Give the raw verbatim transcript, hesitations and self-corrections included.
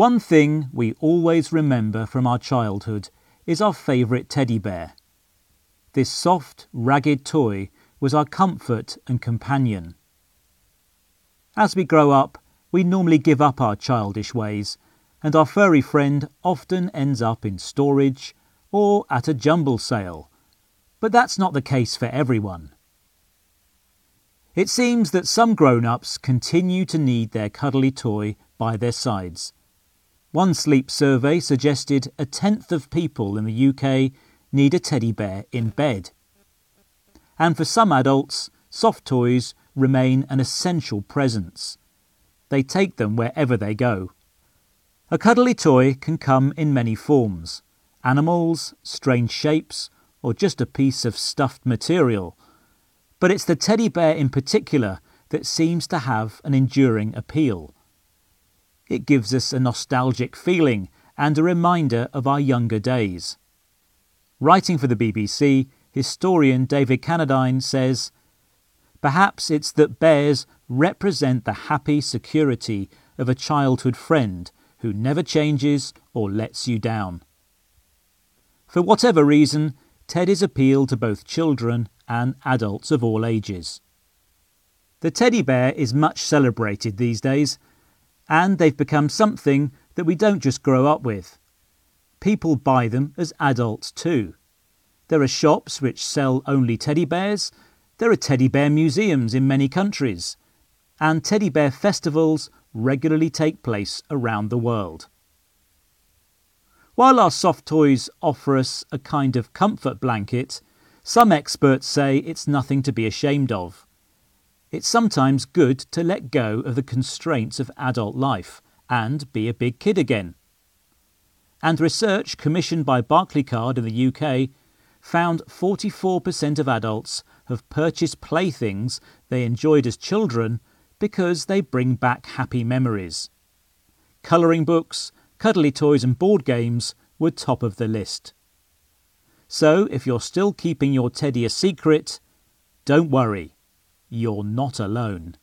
One thing we always remember from our childhood is our favourite teddy bear. This soft, ragged toy was our comfort and companion. As we grow up, we normally give up our childish ways, and our furry friend often ends up in storage or at a jumble sale. But that's not the case for everyone. It seems that some grown-ups continue to need their cuddly toy by their sides. One sleep survey suggested a tenth of people in the U K need a teddy bear in bed. And for some adults, soft toys remain an essential presence. They take them wherever they go. A cuddly toy can come in many forms: animals, strange shapes, or just a piece of stuffed material. But it's the teddy bear in particular that seems to have an enduring appeal. It gives us a nostalgic feeling and a reminder of our younger days. Writing for the B B C, historian David Cannadine says, "Perhaps it's that bears represent the happy security of a childhood friend who never changes or lets you down." For whatever reason, teddies appeal to both children and adults of all ages. The teddy bear is much celebrated these days, and they've become something that we don't just grow up with. People buy them as adults too. There are shops which sell only teddy bears, there are teddy bear museums in many countries, and teddy bear festivals regularly take place around the world. While our soft toys offer us a kind of comfort blanket, some experts say it's nothing to be ashamed of. It's sometimes good to let go of the constraints of adult life and be a big kid again. And research commissioned by Barclaycard in the U K found forty-four percent of adults have purchased playthings they enjoyed as children because they bring back happy memories. Colouring books, cuddly toys and board games were top of the list. So if you're still keeping your teddy a secret, don't worry, you're not alone.